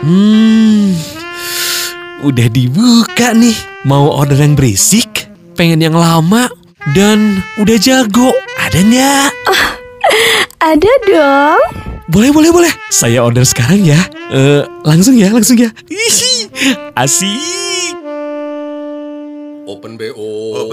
Udah dibuka nih. Mau order yang berisik, pengen yang lama, dan udah jago. Ada nggak? Ada dong. Boleh. Saya order sekarang ya. Langsung ya. Ih, asik. Open BO.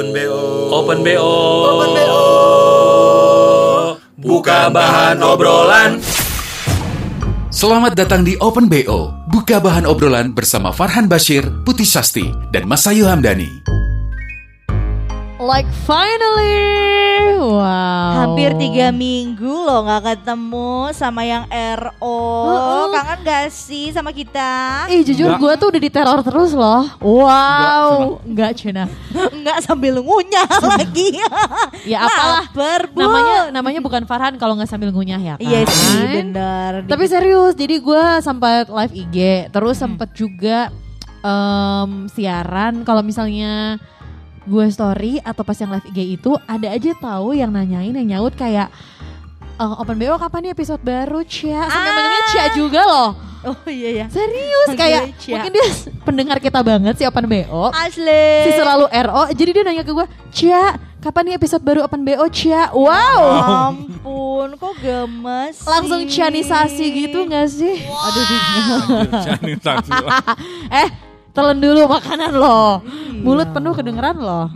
Buka bahan obrolan. Selamat datang di Open BO, buka bahan obrolan bersama Farhan Bashir, Putih Sasti, dan Masayu Hamdani. Like finally, wow. Hampir 3 minggu loh gak ketemu sama yang RO. Kangen gak sih sama kita? Jujur gue tuh udah diteror terus loh. Wow, enggak Cina. Enggak sambil ngunyah lagi. Ya apalah, Berbu. namanya bukan Farhan kalau nggak sambil ngunyah ya kan. Iya sih bener. Tapi serius, jadi gue sempat live IG, terus sempat juga siaran. Kalau misalnya gue story atau pas yang live IG itu ada aja tahu yang nanyain, yang nyaut kayak Open BO kapan nih episode baru Cia? Sampai manggilnya Cia juga loh. Oh iya ya. Serius kayak Cia. mungkin dia pendengar kita banget si Open BO. Asli. Si selalu RO, jadi dia nanya ke gue, Cia kapan nih episode baru Open BO Cia? Wow. Ampun kok gemes sih. Langsung cianisasi gitu gak sih? Wow. Aduh cianisasi. Telan dulu makanan lo. Mulut penuh kedengeran lo.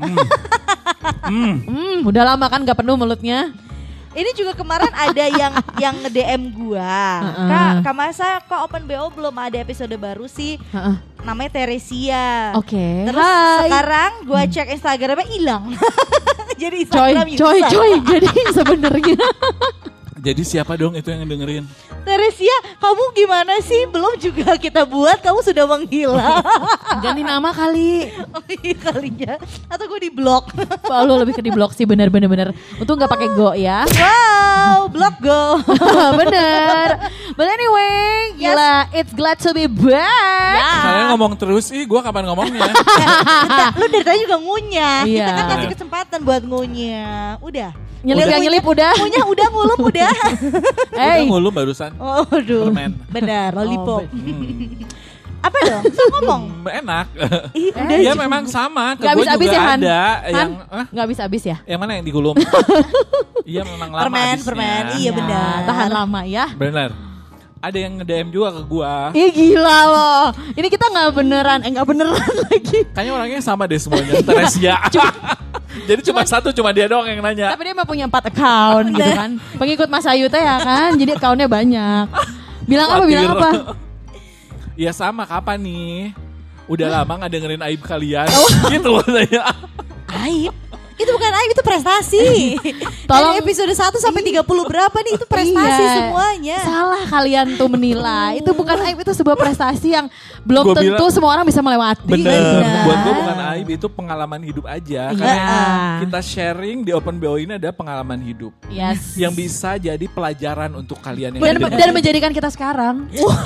Udah lama kan gak penuh mulutnya. Ini juga kemarin ada yang nge-DM gua. Kak Masa kok Open BO belum ada episode baru sih? Namanya Teresia. Oke. Terus Hai. sekarang gua cek Instagramnya hilang. Jadi Coy. Jadi sebenarnya Jadi siapa dong itu yang dengerin? Teresia, kamu gimana sih? Belum juga kita buat, kamu sudah menghilang. ganti nama kali. Oh iya kalinya. Atau gue di blok. Wah, lu lebih ke di blok sih, bener. Untung gak pakai go ya. Wow, blok go. Bener. But anyway, gila, it's glad to be back. Kalian ngomong terus, gue kapan ngomongnya? Lu dari tadi juga ngunyah. Iya. Kita kan kasih kesempatan buat ngunyah. Udah. Nyelip udah. Ngunyah udah, ngulum udah. Udah ngulum barusan. Oh, aduh. Permen. Benar, lollipop. Apa dong? So ngomong. Enak. Udah Iya memang sama. Ke Gak gue habis-habis juga ya Han? ada Han? yang Gak habis-habis ya? yang mana yang digulung? Iya memang lama habisnya. Permen. Iya benar. Tahan lama ya. Benar. Ada yang nge-DM juga ke gua. Ih gila loh. Ini kita gak beneran lagi. Kayaknya orangnya sama deh semuanya. Teresia. Jadi cuma dia doang yang nanya. Tapi dia mah punya 4 account gitu kan. Pengikut Mas Ayu teh ya kan. Jadi accountnya banyak. Bilang apa? Ya sama, kapan nih? Udah lama gak dengerin aib kalian. Gitu saya. Aib? Itu bukan aib, itu prestasi. Tolong. Dari episode 1 sampai 30 berapa nih, itu prestasi Iya. semuanya. Salah kalian tuh menilai. Itu bukan aib, itu sebuah prestasi yang belum Gua tentu bilang, semua orang bisa melewati. Bener. Buat gue bukan aib, itu pengalaman hidup aja. Iya. Karena kita sharing di Open BO ini ada pengalaman hidup. Yes. Yang bisa jadi pelajaran untuk kalian yang Dan menjadikan kita sekarang.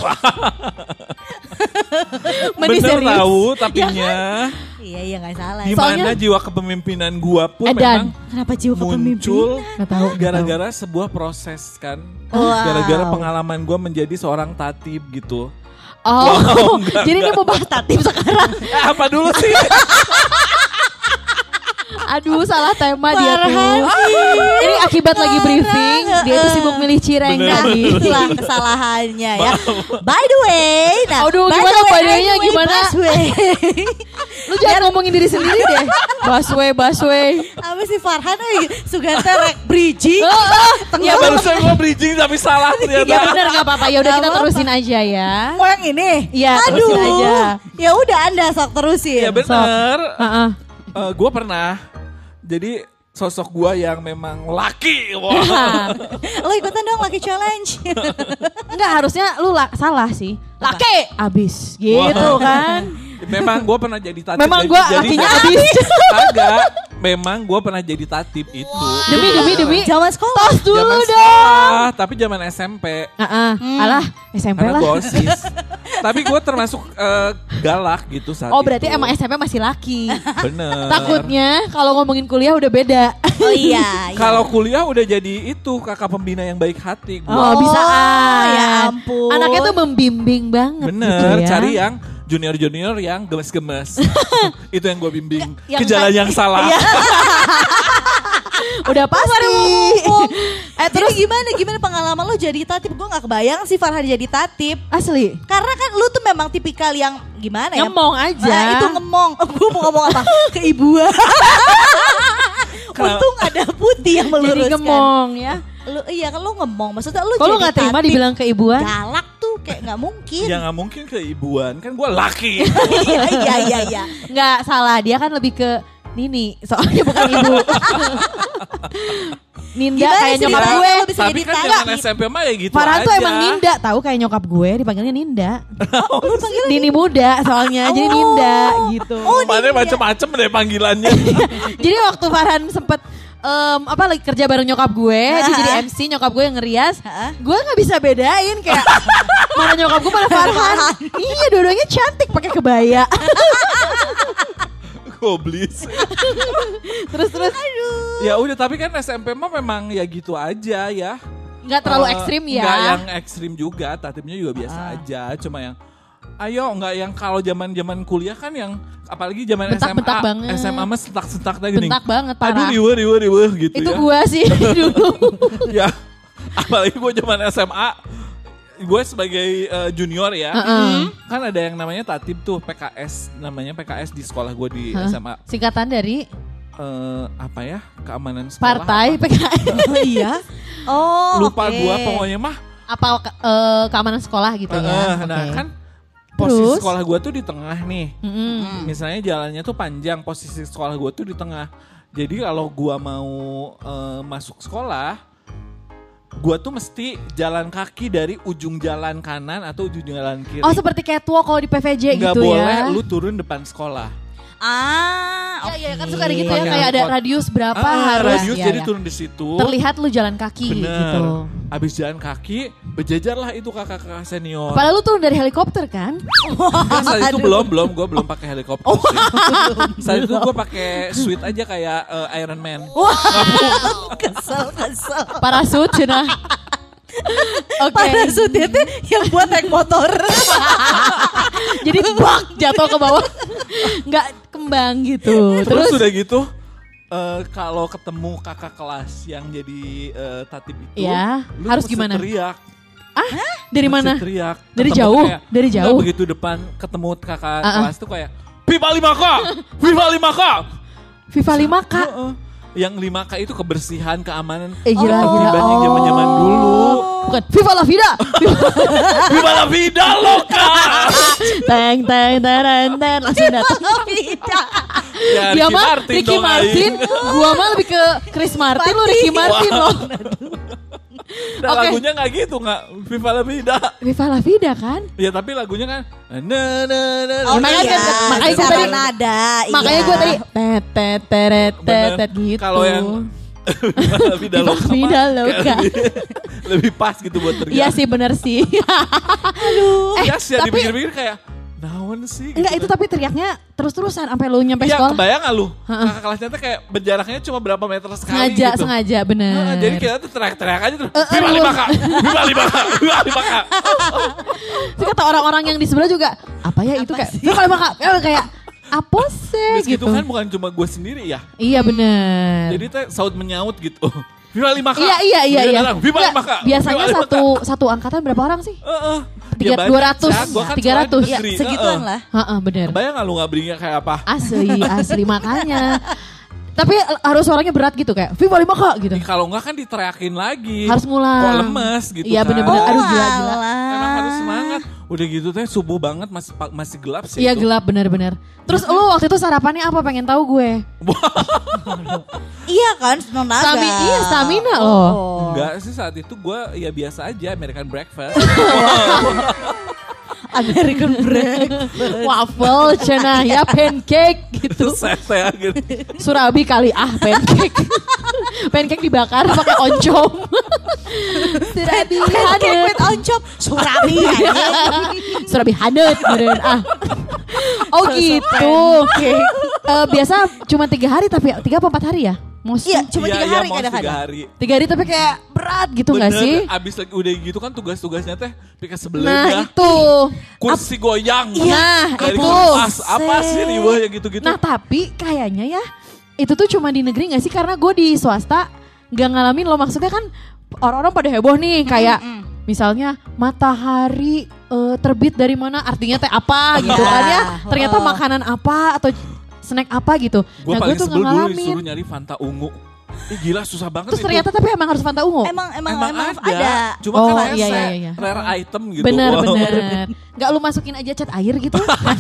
Bener tahu tapinya. Iya gak salah. Gimana jiwa kepemimpinan gua pun Edan. memang Kenapa jiwa muncul Gak tahu. gara-gara sebuah proses kan. Wow. Gara-gara pengalaman gua menjadi seorang tatib gitu. Oh, jadi ini mau bahas tatib sekarang. Apa dulu sih? Aduh, salah tema dia tuh. Ini akibat lagi briefing, dia tuh sibuk milih cireng tadi. Itulah kesalahannya ya. By the way, Aduh, gimana by the way-nya gimana? Lu jangan ngomongin diri sendiri deh. Busway. Apa sih Farhan Sugante rek bridging. Ya barusan gua bridging tapi salah ternyata. Ya benar gak apa-apa. Ya udah kita Gak terusin aja ya. Mau yang ini? Iya, terusin aja. Ya udah Anda sok terusin. Ya bener. Sok. Gua pernah. Jadi sosok gua yang memang laki. Wow. Lo ikutan dong Lucky Challenge. Enggak, harusnya lu salah sih. Laki abis gitu kan. Memang gue pernah jadi tatib. Memang gue lakinya abis. Agak. Memang gue pernah jadi tatib itu. Demi. Zaman sekolah. Tos dulu Zaman dong. sekolah, tapi zaman SMP. Alah, SMP Karena lah. gue OSIS. Tapi gue termasuk galak gitu saat Oh berarti itu. emang SMP masih laki. Bener. Takutnya kalau ngomongin kuliah udah beda. Oh iya. Kalau kuliah udah jadi itu kakak pembina yang baik hati. Gua. Oh bisa Ya ampun. Anaknya tuh membimbing banget. Bener, gitu ya. cari yang junior-junior yang gemes-gemes. Itu yang gue bimbing. Yang Ke jalan yang salah. Udah pasti. Terus gimana pengalaman lo jadi tatip? Gue gak kebayang sih Farhan jadi tatip. Asli. Karena kan lu tuh memang tipikal yang gimana ya? Ngemong aja. Nah, itu ngemong. Gue mau ngomong apa? Keibuan. Untung ada Putih yang meluruskan. Jadi ngemong ya. Iya kan lu ngemong. Maksudnya lu Kalau jadi nggak terima tatip, dibilang keibuan. galak tuh kayak gak mungkin. Ya gak mungkin keibuan. Kan gue laki. Iya. Nggak salah, dia kan lebih ke Nini, soalnya bukan ibu. Ninda Gimana kayak sih nyokap dia? gue. Lu bisa Tapi jadi kan tatip. zaman SMP mah ya gitu Farhan aja. tuh emang Ninda, tahu kayak nyokap gue dipanggilnya Ninda. Lu panggilnya Nini muda soalnya, jadi Ninda gitu. Kemarin macem-macem deh panggilannya. Jadi waktu Farhan sempet lagi kerja bareng nyokap gue, dia jadi MC, nyokap gue yang ngerias. Gue nggak bisa bedain kayak mana nyokap gue mana Farhan. Iya, dua-duanya cantik pakai kebaya. Goblis. Terus Ya udah, tapi kan SMP mah memang ya gitu aja ya. nggak terlalu ekstrim ya. Nggak yang ekstrim juga, tatipnya juga biasa aja. Cuma yang nggak yang kalau zaman kuliah kan yang apalagi zaman Bentak-bentak SMA, banget. SMA mah sentak-sentak tadi gini. Bentak banget, Aduh parah. riweh gitu Itu ya. gue sih dulu. Ya, apalagi gue zaman SMA, gue sebagai junior ya, kan ada yang namanya tatip tuh PKS, namanya PKS di sekolah gue di SMA. Singkatan dari Apa ya, keamanan sekolah. partai apa? PKS. Iya. Oh, Lupa oke. gue pokoknya mah. Apa keamanan sekolah gitu ya. Nah Oke. kan posisi Terus? sekolah gue tuh di tengah nih. Mm-mm. Misalnya jalannya tuh panjang, posisi sekolah gue tuh di tengah. Jadi kalau gue mau masuk sekolah, gue tuh mesti jalan kaki dari ujung jalan kanan atau ujung jalan kiri. Oh, seperti catwalk kalau di PVJ Nggak gitu boleh ya. lu turun depan sekolah. Iya, kan oke. suka ada gitu ya, Pakai kayak ada angkot. radius berapa harus. Radius Iya, jadi iya. turun di situ. Terlihat lu jalan kaki Bener. gitu. Abis jalan kaki, berjajarlah itu kakak-kakak senior. Padahal lu turun dari helikopter kan? Kan saat itu belum, gue belum pakai helikopter sih. Saat itu gue pakai suit aja kayak Iron Man. Kesel. Parasut cenah. Oke. Parasutnya tuh yang buat naik motor. Jadi bak jatuh ke bawah. Nggak kembang gitu. Terus udah gitu, kalau ketemu kakak kelas yang jadi tatip itu, Ya, lu harus mesti gimana? Teriak. Dari Mesti mana? Teriak. Dari Ketemu jauh? kayak- Dari Enggak, jauh? begitu depan ketemu kakak kelas tuh kayak FIFA 5K, FIFA 5K. FIFA 5K. Heeh. Yang 5K itu kebersihan, keamanan. Gila. Dibanding zaman-zaman dulu. Bukan FIFA La Vida. FIFA la vida loka. Teng langsung datang. Ya, Dia Ricky mah Martin Ricky dong, Martin, aing. gua mah lebih ke Chris Martin, lu Ricky Martin loh. Nah, Oke. lagunya nggak gitu, nggak FIFA la vida. FIFA La Vida kan? Ya tapi lagunya kan Oh, makanya iya, kan- makanya gua secara tadi- nada. Makanya iya. gue tadi tet gitu. Kalau yang FIFA la vida FIFA loka, Vida mah loka. kayak lebih pas gitu buat teriak. Iya sih, bener sih. Aduh. Ya sih, tapi dipikir-pikir kayak naon sih gitu enggak, itu kan. tapi teriaknya terus-terusan sampai lu nyampe Iya, sekolah. kebayang gak lu? Kakak kelasnya tuh kayak berjaraknya cuma berapa meter sekali gitu. Sengaja bener. Heeh, jadi kita tuh teriak-teriak aja terus. aduh. FIFA 5K, FIFA 5K, FIFA 5K. Terus kata orang-orang yang di sebelah juga, apa ya itu kayak, kalau kayak apa sih Terus gitu. gitu kan bukan cuma gue sendiri ya. Iya bener. Jadi teh saut menyaut gitu. FIFA 5K. Iya. Kemudian datang, FIFA Nggak, 5K. biasanya FIFA 5K. satu angkatan berapa orang sih? Ya banyak, 200, Cak. Gua kan 300. sekolah di Ya, negeri. segituan lah. Heeh, bener. Kebayang gak lu gak berinya kayak apa? Asli makanya. Tapi harus suaranya berat gitu kayak FIFA 5K gitu. Kalau enggak kan diteriakin lagi. Harus ngulang. Kok lemes gitu Iya kan. bener-bener. Aduh gila. Emang harus semangat. Udah gitu teh subuh banget masih gelap sih. Iya itu. gelap bener-bener. Terus lu waktu itu sarapannya apa, pengen tahu gue? Iya kan, tenaga. Stamina loh. Enggak sih, saat itu gue ya biasa aja American breakfast. American breakfast. Waffle cenah ya, pancake gitu. Saya gitu. Surabi kali pancake. Pancake dibakar pakai oncom. Surabi Pancake hanet. with oncom. Surabi aja. Surabi hanet beneran Oh gitu. Biasa cuma 3 hari tapi 3 apa 4 hari ya? Iya, cuma 3 hari mos 3 kadang-kadang. hari. 3 hari tapi kayak berat gitu gak Bener, sih? abis lagi udah gitu kan tugas-tugasnya teh pikir sebelah Nah ya. itu. Kursi goyang. Nah Dari itu. kipas, apa sih riwah yang gitu-gitu. Nah tapi kayaknya ya itu tuh cuma di negeri gak sih? Karena gue di swasta gak ngalamin loh. Maksudnya kan orang-orang pada heboh nih kayak misalnya matahari terbit dari mana artinya teh apa gitu kan ya. Ternyata makanan apa atau snack apa gitu. Gue Nah gue paling tuh sebel gak dulu ngalamin. disuruh nyari Fanta ungu. Gila susah banget Terus itu. ternyata tapi emang harus Fanta ungu. Emang Emang ada. Cuma Oh, kan iya, rese, iya. rare item gitu. Bener Wow. bener. Gak lu masukin aja cat air gitu?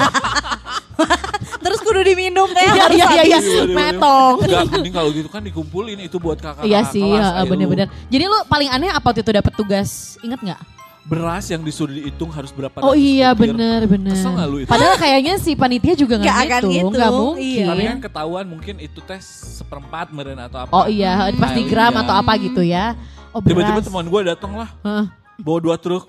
Terus kudu diminum kayak Iya harus iya iya. habis. Waduh, waduh. Metong. Enggak, mending kalau gitu kan dikumpulin itu buat kakak Iya sih, kelas. Ayo bener-bener. Jadi lu paling aneh apa waktu itu dapet tugas? Ingat nggak? Beras yang disuruh dihitung harus berapa Oh ratus iya butir. bener-bener. Kesel nggak lu itu? Padahal kayaknya si panitia juga Nggak nggak akan gitu, gitu, nggak mungkin. iya. Tapi kan ketahuan mungkin itu tes 1/4 meren atau apa. Oh iya, pas di gram Iya. atau apa gitu ya. Oh Tiba-tiba beras. teman gue datang lah, Heeh. bawa 2 truk.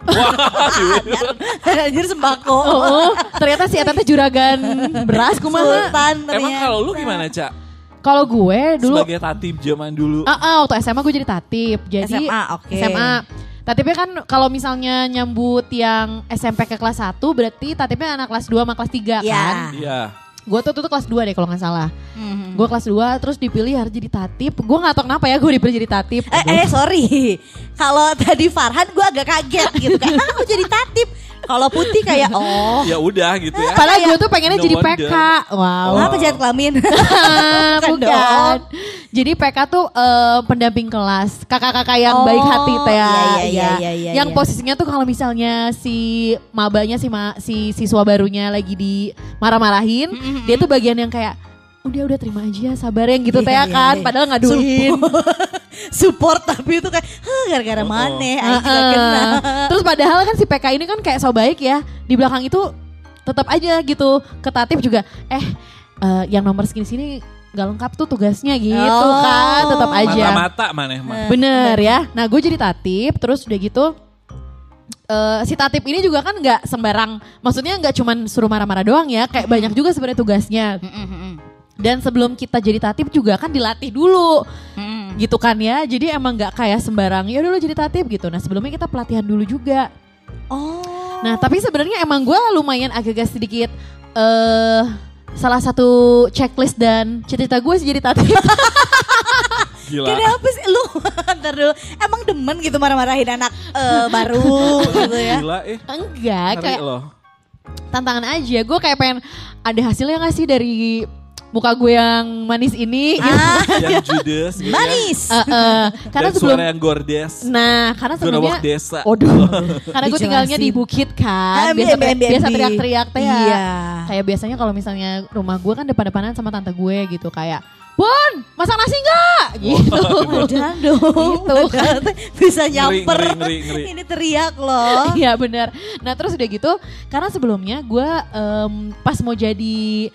Wah, Anjir sembako. Oh, ternyata si Eta teh juragan beras kumaha. Sultan emang ternyata. kalau lu gimana, Cak? Kalau gue dulu, Sebagai tatib zaman dulu. waktu SMA gue jadi tatip. Jadi SMA, oke. SMA. Tatipnya kan kalau misalnya nyambut yang SMP ke kelas 1 berarti tatipnya anak kelas 2 sama kelas 3 Iya. kan. Iya. Gue tuh kelas 2 deh kalau gak salah. Mhm. Gue kelas 2 terus dipilih harus jadi tatip. Gue gak tau kenapa ya gue dipilih jadi tatip. Sorry. Kalau tadi Farhan gue agak kaget gitu kan. Aku jadi tatip. Kalau Putih kayak Ya udah gitu ya. Padahal gue tuh pengennya No jadi wonder. PK. Wow. Kenapa jahat kelamin? Bukan. dong. Jadi PK tuh pendamping kelas. Kakak-kakak yang Oh, baik hati teh ya. iya, Yang iya. posisinya tuh kalau misalnya si mabanya si siswa barunya lagi di marah-marahin, dia tuh bagian yang kayak udah terima aja sabar yang gitu teh Iya, kan. iya. Padahal ngaduin. Support tapi itu kayak gara-gara maneh aing juga kena. Terus padahal kan si PK ini kan kayak so baik ya. Di belakang itu tetap aja gitu. Ketatif juga yang nomor segini-sini gak lengkap tuh tugasnya gitu Oh. kan. Tetap aja. Mata-mata maneh mah. Bener ya. Nah gue jadi tatip terus udah gitu. Si tatip ini juga kan gak sembarang. Maksudnya gak cuman suruh marah-marah doang ya. Kayak banyak juga sebenarnya tugasnya. Dan sebelum kita jadi tatip juga kan dilatih dulu. Gitu kan ya. Jadi emang gak kayak sembarang ya udah lu jadi tatip gitu. Nah sebelumnya kita pelatihan dulu juga. Oh. Nah tapi sebenarnya emang gue lumayan agak-agak sedikit salah satu checklist dan cita-cita gue sih jadi tatip. Gila. Kenapa sih lu? Ntar dulu. Emang demen gitu marah-marahin anak baru gitu ya? Gila Enggak, ngeri kayak loh. tantangan aja. Gue kayak pengen ada hasilnya gak sih dari muka gue yang manis ini gitu. Yang judes gitu Manis. Karena Dan sebelum suara yang gordes. Nah, karena sebelumnya Suara desa. karena gue tinggalnya di bukit kan. Ambi, Biasa ambi, ambi, biasa ambi. teriak-teriak teh ya. Iya. Kayak biasanya kalau misalnya rumah gue kan depan-depanan sama tante gue gitu kayak, "Bun, masak nasi enggak?" gitu. Jangan dong. Gitu kan. Bisa nyamper. Ngeri. Ini teriak loh. Iya benar. Nah terus udah gitu, karena sebelumnya gue pas mau jadi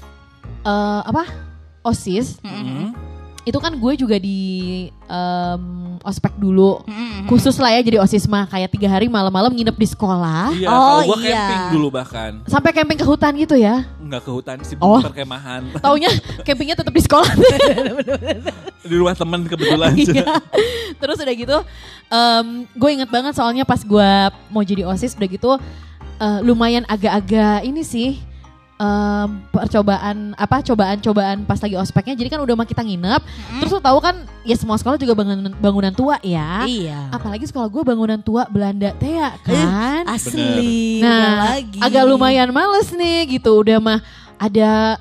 OSIS, itu kan gue juga di ospek dulu, khusus lah ya jadi OSIS mah kayak 3 hari malam-malam nginep di sekolah, Iya, Oh, kalau gua iya. camping dulu bahkan. sampai camping ke hutan gitu ya. Enggak ke hutan sih, Oh. perkemahan. Taunya campingnya tetap di sekolah. Di rumah teman kebetulan. Iya. Terus udah gitu, gue inget banget soalnya pas gue mau jadi OSIS udah gitu, lumayan agak-agak ini sih. Cobaan pas lagi ospeknya. Jadi kan udah mah kita nginep. Terus lo tahu kan ya semua sekolah juga bangunan tua ya. Iya. Apalagi sekolah gue bangunan tua Belanda teh ya kan. Asli. Nah lagi. agak lumayan males nih gitu. Udah mah ada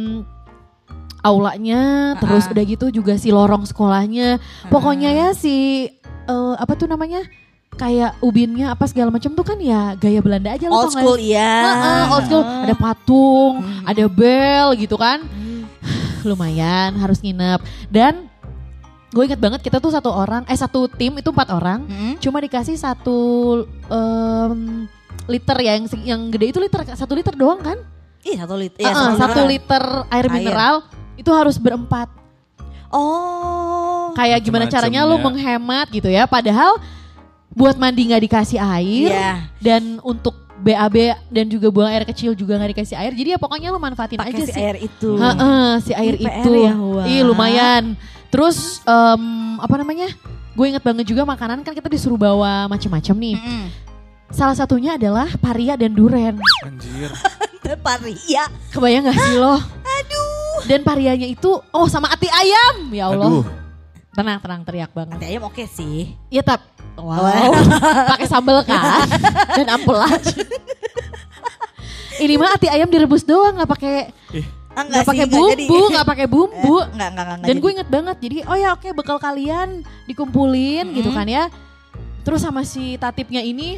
aulanya. Terus udah gitu juga si lorong sekolahnya. Pokoknya ya si apa tuh namanya, kayak ubinnya apa segala macam tuh kan ya gaya Belanda aja. Old school iya. Old school, ada patung, ada bel gitu kan. Lumayan harus nginep. Dan gue inget banget kita tuh satu tim itu 4 orang, cuma dikasih 1 liter ya, yang gede itu 1 liter doang kan? Iya 1 liter. 1 liter air mineral itu harus berempat. Oh. Kayak gimana Macem-macem caranya lu ya. menghemat gitu ya. Padahal buat mandi gak dikasih air. Iya. Dan untuk BAB dan juga buang air kecil juga gak dikasih air. Jadi ya pokoknya lu manfaatin Pakai aja si sih. air itu. Si air Ini PR itu. ya, Wak. Ih lumayan. Terus apa namanya? Gue inget banget juga makanan kan kita disuruh bawa macam-macam nih. Salah satunya adalah paria dan duren. Anjir. Paria. Kebayang gak sih lo? Aduh. Dan parianya itu, sama ati ayam. Ya Allah. Aduh. Tenang teriak banget. Ati ayam oke sih. Iya wow. Pakai sambal kan dan ampel aja. Ini mah ati ayam direbus doang, nggak pakai nggak pakai bumbu. Enggak. Dan gue inget banget. Jadi oke, bekal kalian dikumpulin gitu kan ya. Terus sama si tatipnya ini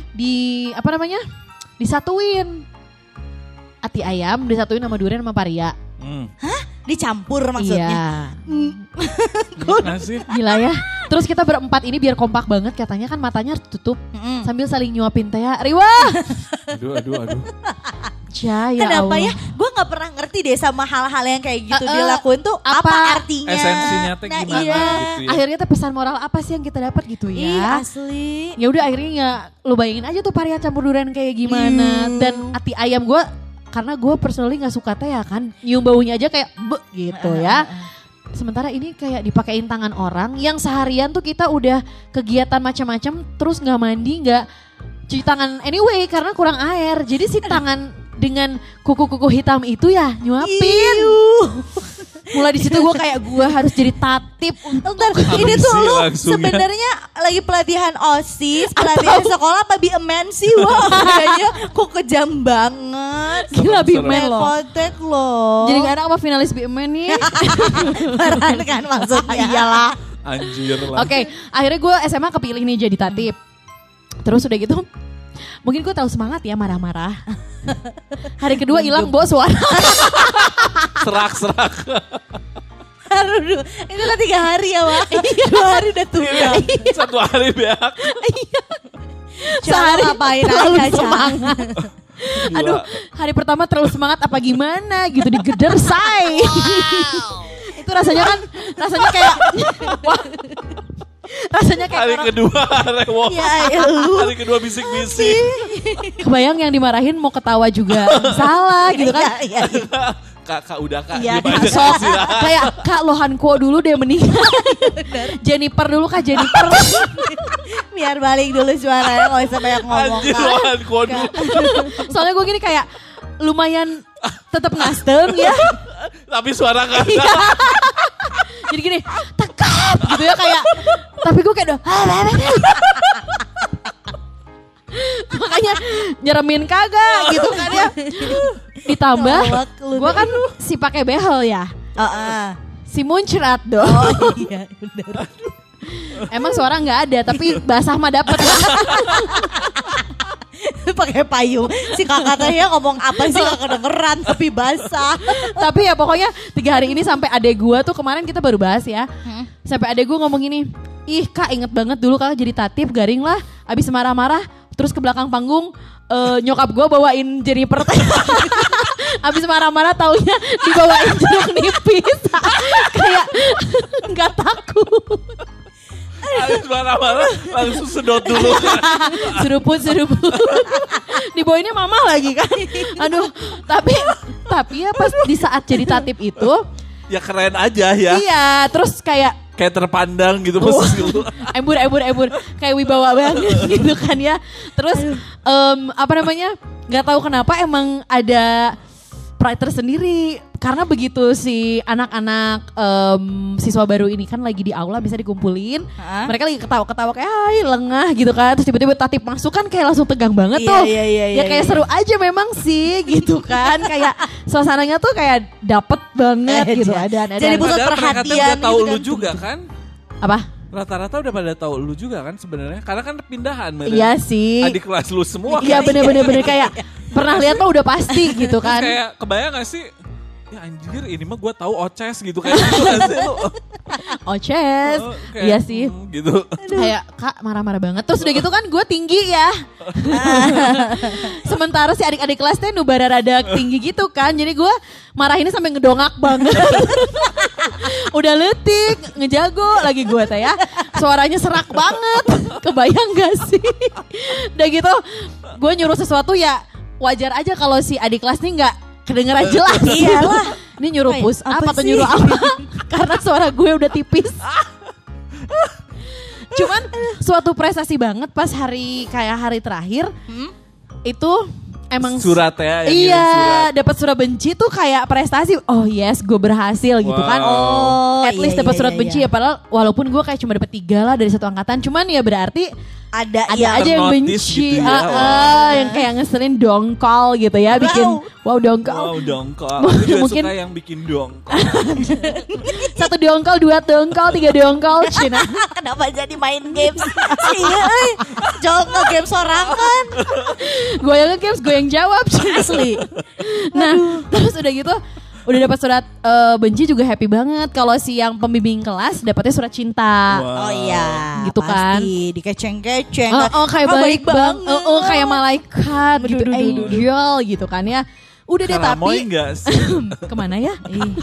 disatuin. Ati ayam disatuin sama durian sama paria. Hah? Dicampur maksudnya? Iya. Gila ya. Terus kita berempat ini biar kompak banget, katanya kan matanya harus tutup. Sambil saling nyuapin teh. Riwa. Aduh. Ya Kenapa Allah. ya? Gue gak pernah ngerti deh sama hal-hal yang kayak gitu dilakuin tuh apa artinya? Esensinya teh gimana Iya. gitu ya. Akhirnya tuh pesan moral apa sih yang kita dapat gitu ya? Ih, asli. Ya udah akhirnya ya lu bayangin aja tuh paria campur durian kayak gimana. Dan ati ayam gue, karena gue personally gak suka teh ya kan. Nyium baunya aja kayak gitu ya. Sementara ini kayak dipakein tangan orang yang seharian tuh kita udah kegiatan macam-macam terus gak mandi, gak cuci tangan anyway karena kurang air. Jadi si tangan dengan kuku-kuku hitam itu ya nyuapin. Mulai di situ gue kayak gue harus jadi tatip untuk ini tuh lu langsung ya. sebenarnya lagi pelatihan OSIS, pelatihan sekolah apa BMN sih? Wah, kayaknya kok kejam banget. Gila BMN loh. Kontek loh. Jadi gak enak sama finalis BMN nih. Beneran kan maksudnya. Iyalah. Anjir lah. Oke, akhirnya gue SMA kepilih nih jadi tatip. Terus udah gitu, mungkin gue tahu semangat ya marah-marah. Hari kedua hilang bawa suara. Serak. Aduh, itu kan 3 hari ya Wak. 2 hari udah tunggal. 1 hari beak. Sehari ngapain terlalu aja, semangat. Aduh, hari pertama terlalu semangat apa gimana gitu, digeder say. Itu rasanya kayak wah. Rasanya kayak Hari orang, kedua rewok. Ya lu. Hari kedua bisik-bisik. kebayang yang dimarahin mau ketawa juga salah gitu kan. Iya. Kak udah kak. Iya, Gimana Sok, sih? kayak Kak Lohanko dulu deh meninggal. Jennifer dulu Kak Jennifer. Biar balik dulu suaranya, gak usah banyak ngomong. Anjir Kak. lohan kodu. Soalnya gue gini kayak lumayan tetap ngastem ya. Tapi suara kan. Jadi gini tekap gitu ya kayak. Tapi gue kayak makanya nyeremin kagak gitu kan ya. Ditambah gue kan si pakai behel ya. Si muncrat dong. Oh iya bener. Emang suara nggak ada tapi basah mah dapet. Pakai payung. Si kakak tanya ngomong apa sih gak kedengeran tapi basah. Tapi ya pokoknya 3 hari ini sampai adek gue tuh kemarin kita baru bahas ya. Sampai adek gue ngomong gini, ih Kak inget banget dulu Kak jadi tatip garing lah. Abis marah-marah terus ke belakang panggung nyokap gue bawain Jennifer. Abis marah-marah taunya dibawain jeruk nipis. Kayak gak takut. Habis marah-marah langsung sedot dulu. Seruput. Dibawainnya mama lagi kan. Aduh, tapi ya pas di saat jadi tatip itu. Ya keren aja ya. Iya, terus kayak terpandang gitu posisi lu. embur. Kayak wibawa banget gitu kan ya. Terus gak tahu kenapa emang ada pride tersendiri. Karena begitu si anak-anak siswa baru ini kan lagi di aula bisa dikumpulin. Mereka lagi ketawa-ketawa kayak hai lengah gitu kan. Terus tiba-tiba tatip masuk kan kayak langsung tegang banget tuh. Ya kayak seru aja memang sih gitu kan. Kayak suasananya tuh kayak dapet banget gitu. Jadi pusat Padahal perhatian mereka udah tahu gitu lu kan. juga kan. Apa? Rata-rata udah pada tahu lu juga kan sebenarnya. Karena kan pindahan. Iya sih. Adik kelas lu semua. Iya bener kayak pernah lihat mah udah pasti gitu kan. Kayak kebayang gak sih? Ya anjir ini mah gue tahu Oces gitu kayak gitu gak sih lu? Oces. Kayak, Iya sih. Gitu. Kayak Kak marah-marah banget. Terus udah gitu kan gue tinggi ya. Sementara si adik-adik kelas teh nubara rada tinggi gitu kan. Jadi gue marahinnya sampai ngedongak banget. Udah letik, ngejago lagi gue teh ya. Suaranya serak banget. Kebayang gak sih? Udah gitu gue nyuruh sesuatu ya wajar aja kalau si adik kelas nih gak kedengeran jelas. Iyalah. Ini nyuruh push up apa atau sih? nyuruh apa? Karena suara gue udah tipis. Cuman suatu prestasi banget pas hari terakhir itu emang Surat ya, yang ngirim iya, surat. dapat surat benci tuh kayak prestasi. Oh yes, gue berhasil gitu kan. Oh, At least iya, dapat iya, surat iya, benci iya. ya, padahal walaupun gue kayak cuma dapat 3 lah dari satu angkatan. Cuman ya berarti Ada ada yang aja yang ternotis benci, gitu ya. yang kayak ngeselin dongkol gitu ya, bikin wow dongkol. Wow, dongkol. Aku juga Mungkin- suka yang bikin dongkol. 1 dongkol, 2 dongkol, 3 dongkol, Cina. kenapa jadi main games? Iya, jauh nge-game sorangan. Gue yang nge-games, gue yang jawab, asli. Nah, terus udah gitu, udah dapat surat benci juga happy banget. Kalau si yang pembimbing kelas dapatnya surat cinta. Oh iya, Gitu kan. pasti dikeceng-keceng. Kayak Ah, baik banget. Kayak malaikat gitu, Aduh, angel gitu kan ya. Udah deh Karamoy tapi enggak sih? kemana ya?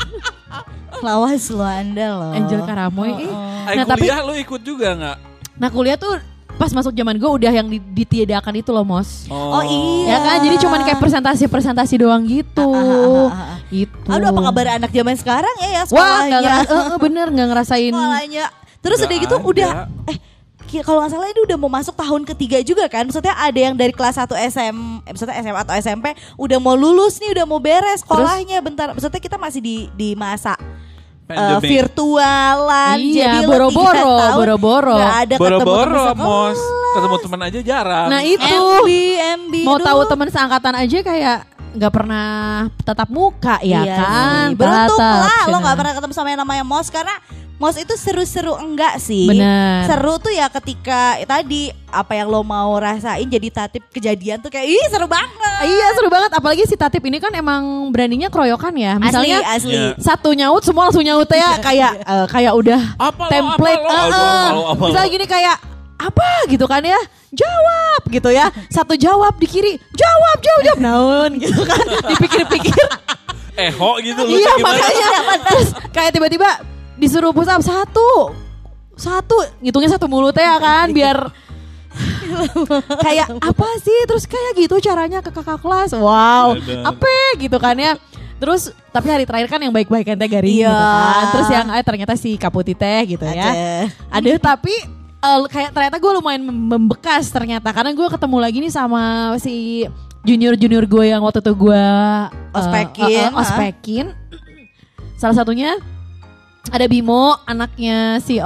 Lawas lo Anda loh. Angel Karamoy. Nah, tapi Kuliah lu ikut juga enggak? nah kuliah tuh pas masuk zaman gue udah yang ditiadakan itu loh, Mos. Oh iya. Ya kan, jadi cuman kayak presentasi doang gitu. Gitu. Aduh, apa kabar anak zaman sekarang ya Wah, sekolahnya? bener nggak ngerasain. Sekolahnya. Terus Nggak udah gitu ada. udah kalau nggak salah ini udah mau masuk tahun ketiga juga kan. Maksudnya ada yang dari kelas 1 maksudnya SMA atau SMP udah mau lulus nih, udah mau beres sekolahnya bentar. Maksudnya kita masih di masa Pandemic. virtualan. Iya, Jadi lo 3 boro-boro, tahun boro-boro. nggak ada ketemu Boro-boro, teman Mos. Ketemu teman aja jarang. Nah itu MB mau aduh. tahu teman seangkatan aja kayak nggak pernah tatap muka ya Iya kan. sih. Beruntung Tatap, lah lo Cina. gak pernah ketemu sama yang namanya Mos. Karena Mos itu seru-seru enggak sih. Bener. Seru tuh ya ketika tadi apa yang lo mau rasain jadi tatip kejadian tuh kayak ih seru banget. Iya seru banget, apalagi si Tatip ini kan emang beraninya keroyokan ya. Misalnya asli. Iya. satu nyaut semua langsung nyaut ya kayak udah Apa lo, template. apa lo? Apa lo? Misalnya gini kayak apa gitu kan ya, jawab gitu ya, satu jawab di kiri, jawab naon gitu kan, dipikir-pikir. Ho gitu lu Iya gimana? makanya terus kayak tiba-tiba disuruh push up satu ngitungnya satu mulut ya kan biar kayak apa sih, terus kayak gitu caranya ke kakak kelas. Wow, Ada. apa gitu kan ya. Terus tapi hari terakhir kan yang baik-baik teh Garing Iya. gitu kan. Terus yang ternyata si Kaputi teh gitu ya. Ada tapi kayak ternyata gue lumayan membekas ternyata karena gue ketemu lagi nih sama si junior gue yang waktu itu gue ospekin. Salah satunya ada Bimo, anaknya si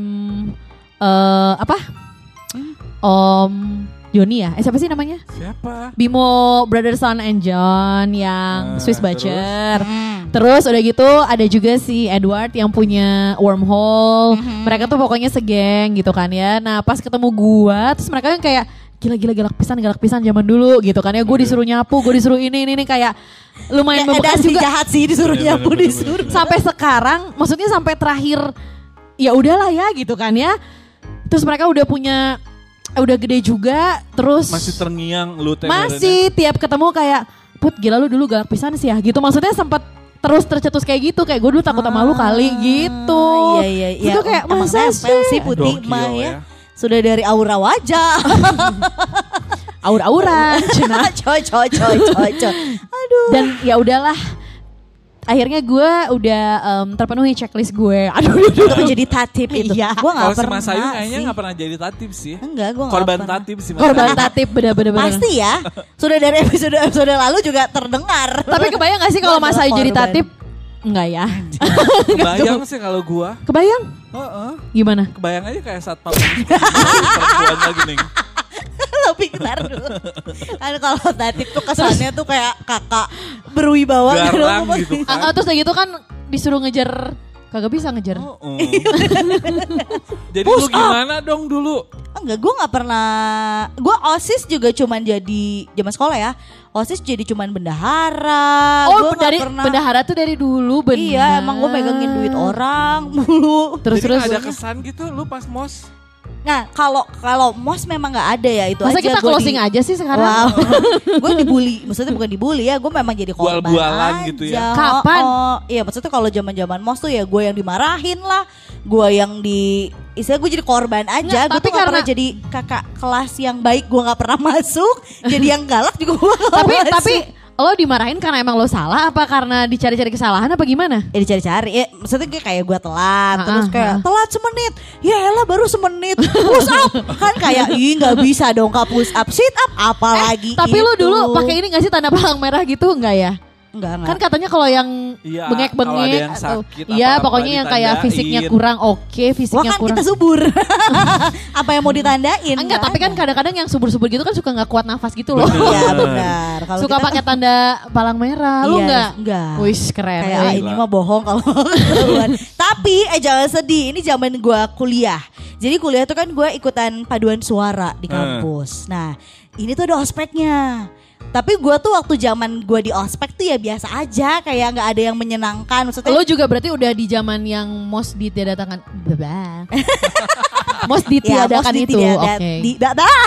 Om Joni ya? Siapa sih namanya? Siapa? Bimo Brother Son and John yang Nah, Swiss Butcher. Terus udah gitu ada juga si Edward yang punya Wormhole. Mereka tuh pokoknya segeng gitu kan ya. Nah pas ketemu gua terus mereka kan kayak gila galak pisan zaman dulu gitu kan ya. Gue disuruh nyapu, gue disuruh ini kayak lumayan membekas si juga. jahat sih disuruh Iya, nyapu bener-bener. disuruh. Sampai sekarang maksudnya sampai terakhir ya udahlah ya gitu kan ya. Terus mereka udah punya udah gede juga, terus Masih terngiang lu teh. masih tiap ketemu kayak Put gila lu dulu galak pisan sih ya gitu. Maksudnya sempat terus tercetus kayak gitu, kayak gue dulu takut sama lu kali gitu. Iya. Itu kayak emang masa nempel sih? sih Putih Gokil mah ya. ya. Sudah dari aura wajah. Aur-auran Cina. coy. Aduh. Dan ya udahlah, akhirnya gue udah terpenuhi checklist gue. Aduh. Untuk menjadi tatip itu. Iya. Gue Kalau gak si pernah Mas Ayu kayaknya sih. gak pernah jadi tatip sih. Enggak, gue gak Korban pernah. tatip sih Mas. Korban tatip bener-bener. Pasti ya. Sudah dari episode lalu juga terdengar. Tapi kebayang gak sih kalau Mas Ayu jadi Korban. tatip? Enggak ya. Kebayang sih kalau gua. Kebayang? Heeh. Gimana? Kebayang aja kayak satpam perempuan lagi nih. Lebih bentar dulu. Kan kalau tatip tuh kesannya tuh kayak kakak berwibawa. Garang gitu kan. Terus udah gitu kan disuruh ngejar, kagak bisa ngejar. Jadi lu gimana dong dulu? Enggak, gue gak pernah. Gue OSIS juga cuman jadi zaman sekolah ya. OSIS jadi cuman bendahara. Oh, Gua nggak dari pernah. bendahara tuh dari dulu bener. Iya, emang gue megangin duit orang mulu. Terus Jadi terus. gak ada kesan gitu lu pas mos? Nah, kalau MOS memang nggak ada ya itu Masa aja. kita gua closing aja sih sekarang? Wow. Gue dibully, maksudnya bukan dibully ya, gue memang jadi korban Bual-bualan aja. gitu ya. Kapan? Oh, iya maksudnya kalau zaman-zaman MOS tuh ya gue yang dimarahin lah, gue yang istilah gue jadi korban aja. Nggak, Gue tapi tuh nggak pernah karena- jadi kakak kelas yang baik, gue nggak pernah masuk. Jadi yang galak juga gue nggak tapi masuk. tapi lo dimarahin karena emang lo salah apa karena dicari-cari kesalahan apa gimana? Dicari-cari, maksudnya kayak gue telat, terus kayak telat semenit, ya elah baru semenit, push up, kan kayak gak bisa dong kak push up, sit up, apalagi tapi itu. lo dulu pakai ini gak sih tanda palang merah gitu enggak ya? Enggak. Kan katanya kalau yang Iya, bengek-bengek kalau ada yang atau sakit, iya apa-apa pokoknya yang kayak ditandain. fisiknya kurang oke, Wah fisiknya kan kurang. kita subur. Apa yang mau ditandain? Enggak, tapi kan kadang-kadang yang subur-subur gitu kan suka nggak kuat nafas gitu loh. Iya benar. Kalau Suka kita pakai tanda palang merah. Lu Iya, enggak? enggak. Wih, keren. kayak Wih. ini mah bohong kalau ketahuan. Tapi jangan sedih, ini zaman gue kuliah. Jadi kuliah tuh kan gue ikutan paduan suara di kampus. Nah ini tuh ada ospeknya. Tapi gue tuh waktu zaman gue di ospek tuh ya biasa aja, kayak nggak ada yang menyenangkan. Maksudnya Lo juga berarti udah di zaman yang most ditiadakan. Most ditiadakan itu. Oke.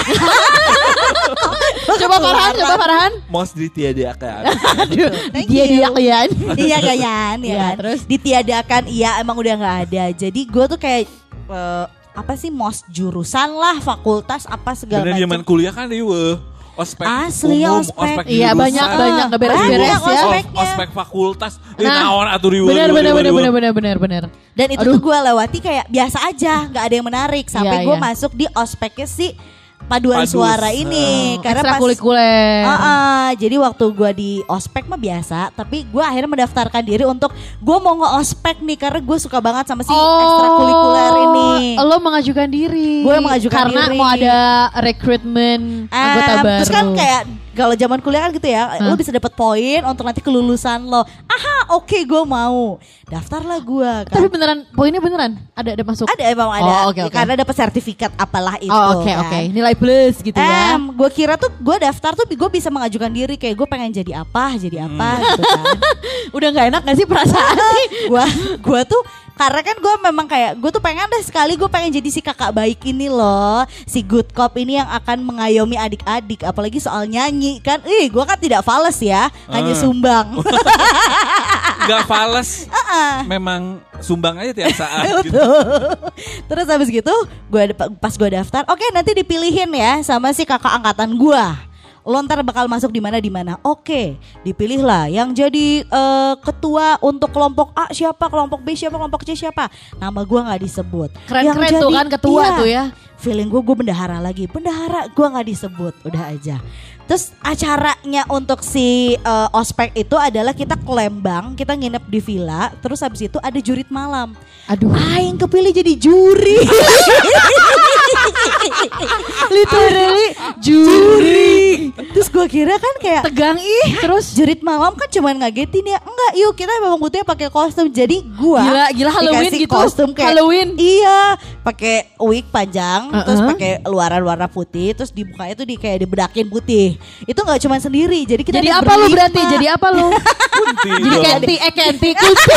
Coba Farhan. Most ditiadakan. Dia kalian. Iya kan, Iya, ya. terus? Ditiadakan, iya emang udah nggak ada. Jadi gue tuh kayak apa sih mos jurusan lah, fakultas apa segala Bener zaman macam. kuliah kan iwe. Ospek Asli, umum, ospek. Iya, jurusan. banyak nggak beres-beres Banyak ya. ospeknya. Ospek fakultas. Nah, Naon atuh riwe. Bener. Dan itu tuh gue lewati kayak biasa aja, nggak ada yang menarik. Sampai Iya, gue iya. masuk di ospeknya si paduan Padus. suara ini. Karena pas Ekstrakurikuler. jadi waktu gue di ospek mah biasa, tapi gue akhirnya mendaftarkan diri untuk gue mau nge-ospek nih karena gue suka banget sama si ekstrakurikuler ini. Lo mengajukan diri. Gue mengajukan karena diri. mau ada rekrutmen anggota baru. Terus kan kayak kalau zaman kuliah kan gitu ya, lo bisa dapat poin untuk nanti kelulusan lo. Aha, oke, gue mau. Daftarlah gue kan. Tapi beneran poinnya beneran ada masuk. Ada emang ada. Oh, oke. Karena dapat sertifikat apalah itu. Oh, oke kan. oke. Nilai plus gitu ya. Gue kira tuh gue daftar tuh gue bisa mengajukan diri kayak gue pengen jadi apa gitu kan. Udah nggak enak gak sih perasaan sih? Gue tuh karena kan gue memang kayak gue tuh pengen deh sekali gue pengen jadi si kakak baik ini loh, si good cop ini yang akan mengayomi adik-adik, apalagi soal nyanyi kan. Gue kan tidak fales ya, hanya sumbang. Gak fales. Memang sumbang aja tiap saat. Gitu. Terus habis gitu pas gue daftar, oke nanti dipilihin ya sama si kakak angkatan gue. Lo ntar bakal masuk di mana. Oke, dipilihlah yang jadi ketua untuk kelompok A siapa, kelompok B siapa, kelompok C siapa. Nama gue nggak disebut. Keren-keren tuh kan ketua tuh ya. Feeling gue bendahara lagi. Bendahara gue nggak disebut, udah aja. Terus acaranya untuk si ospek itu adalah kita ke Lembang, kita nginep di villa. Terus habis itu ada jurit malam. Aduh. Aing kepilih jadi juri. Literally juri. Terus gue kira kan kayak Tegang terus jurit malam kan cuman ngagetin ya. Enggak, yuk kita memang butuhnya pakai kostum. Jadi gue Gila Halloween dikasih gitu. kostum kayak Halloween. Iya, pakai wig panjang, terus pakai luaran warna putih, terus di mukanya tuh kayak dibedakin putih. Itu nggak cuma sendiri. Jadi kita Jadi ada apa lu berlima. berarti? Jadi apa lu? Kunti Jadi dong. Kenti kunti.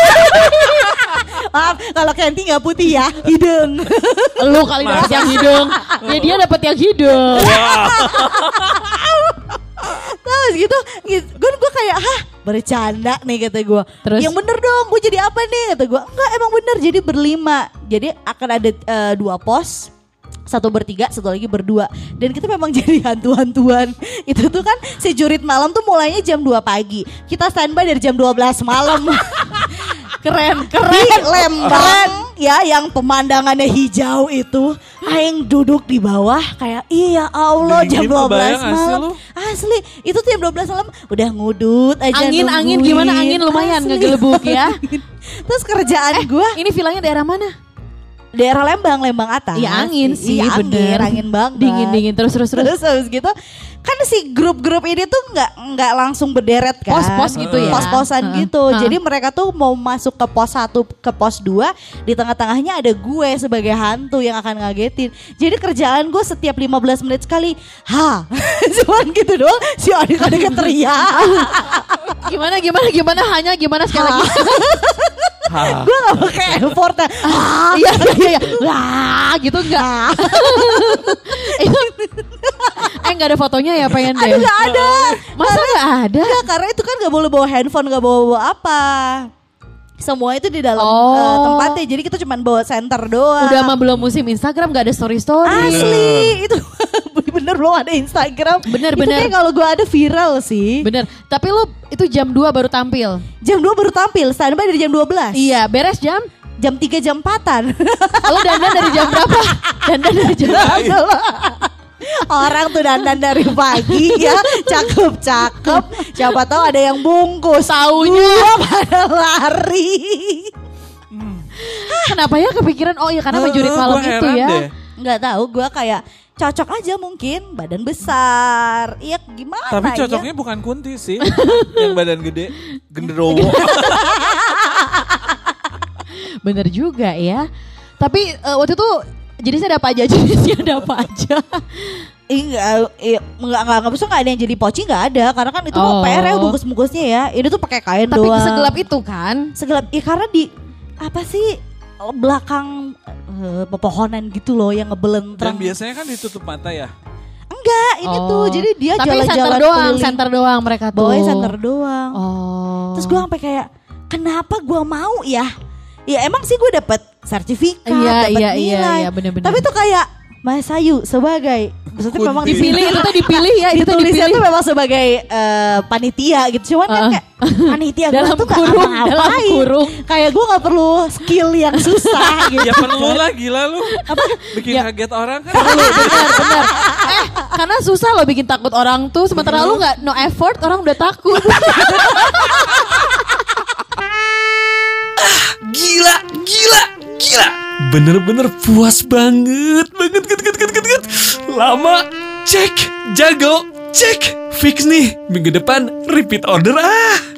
Maaf, kalau Kenti nggak putih ya, hidung. Lu kali dapet yang hidung. Ya dia dapet yang hidung. Terus gitu, gue kayak bercanda nih kata gue. Terus? Yang bener dong, gue jadi apa nih kata gue. Enggak, emang bener, jadi berlima. Jadi akan ada 2 pos. 1 bertiga, 1 lagi berdua. Dan kita memang jadi hantu-hantuan. Itu tuh kan si jurit malam tuh mulainya jam 2 pagi. Kita standby dari jam 12 malam. Keren. Di Lembang ya, yang pemandangannya hijau itu. Aing duduk di bawah kayak iya Allah jam Dingin, 12 kebayang gak sih malam. lu? Asli, itu tuh jam 12 malam udah ngudut aja Angin nungguin. gimana angin lumayan Asli. ngegelebuk ya. Terus kerjaan gue Ini villanya daerah mana? daerah Lembang atas. Iya angin sih Iya, bener. angin banget. Dingin terus. Terus habis gitu kan si grup-grup ini tuh nggak langsung berderet kan. Pos-pos gitu ya. Pos-posan gitu. Jadi mereka tuh mau masuk ke pos 1 ke pos 2, di tengah-tengahnya ada gue sebagai hantu yang akan ngagetin. Jadi kerjaan gue setiap 15 menit sekali, cuman gitu doang. Si adik-adiknya teriak. Gimana hanya gimana sekali lagi. Gue gak pakai effort. Iya. Wah, gitu enggak. Itu enggak ada fotonya ya pengen deh. Aduh gak ada. Masa enggak ada? Enggak, karena itu kan gak boleh bawa handphone, gak bawa apa. Semua itu di dalam tempatnya. Jadi kita cuma bawa center doang. Udah mah belum musim Instagram, enggak ada story. Asli itu bener belum ada Instagram. Bener, Itu bener. kayak kalau gue ada viral sih. Bener. Tapi lu itu jam 2 baru tampil. Jam 2 baru tampil, standby dari jam 12. Iya, beres jam. Jam 3 jam 4-an. Lu dandan dari jam berapa? Dandan dari jam berapa? Orang tuh dandan dari pagi ya, cakep-cakep. Siapa tahu ada yang bungkus. Taunya. Gua pada lari. Kenapa ya kepikiran? Oh iya karena majurit malam Gua itu heran ya. deh. Nggak tahu, gue kayak cocok aja mungkin, badan besar. Iya gimana Tapi ya? cocoknya bukan Kunti sih. Yang badan gede, genderowo. Bener juga ya. Tapi waktu itu jenisnya ada apa aja? Jenisnya ada apa aja? Enggak bisa nggak ada yang jadi poci nggak ada karena kan itu Oh. PR ya bungkus-bungkusnya ya. Ini tuh pakai kain Tapi doang. segelap itu kan? Segelap ya karena di apa sih belakang pepohonan gitu loh yang Dan ngebelentreng. biasanya kan ditutup mata ya. Enggak, ini tuh jadi dia tapi jalan-jalan center doang, keliling. center doang mereka tuh. Bawahnya center doang. Oh. Terus gue sampai kayak kenapa gue mau ya? Ya emang sih gue dapet sertifikat, Iya, dapet iya, nilai. iya, bener-bener. Tapi tuh kayak Mas Ayu sebagai maksudnya Kunti. memang dipilih itu tuh dipilih ya, itu tuh ditulisnya dipilih. tuh memang sebagai panitia gitu. Cuman kan kayak panitia gue Dalam tuh gak kurung, apa-apain. dalam kurung. Kayak gue gak perlu skill yang susah gitu. Ya perlu lah, gila lu. Bikin kaget orang kan. Bener. Karena susah loh bikin takut orang tuh. Sementara lu gak no effort, orang udah takut. Gila. Bener-bener puas banget. Lama, cek. Jago, cek. Fix nih, minggu depan repeat order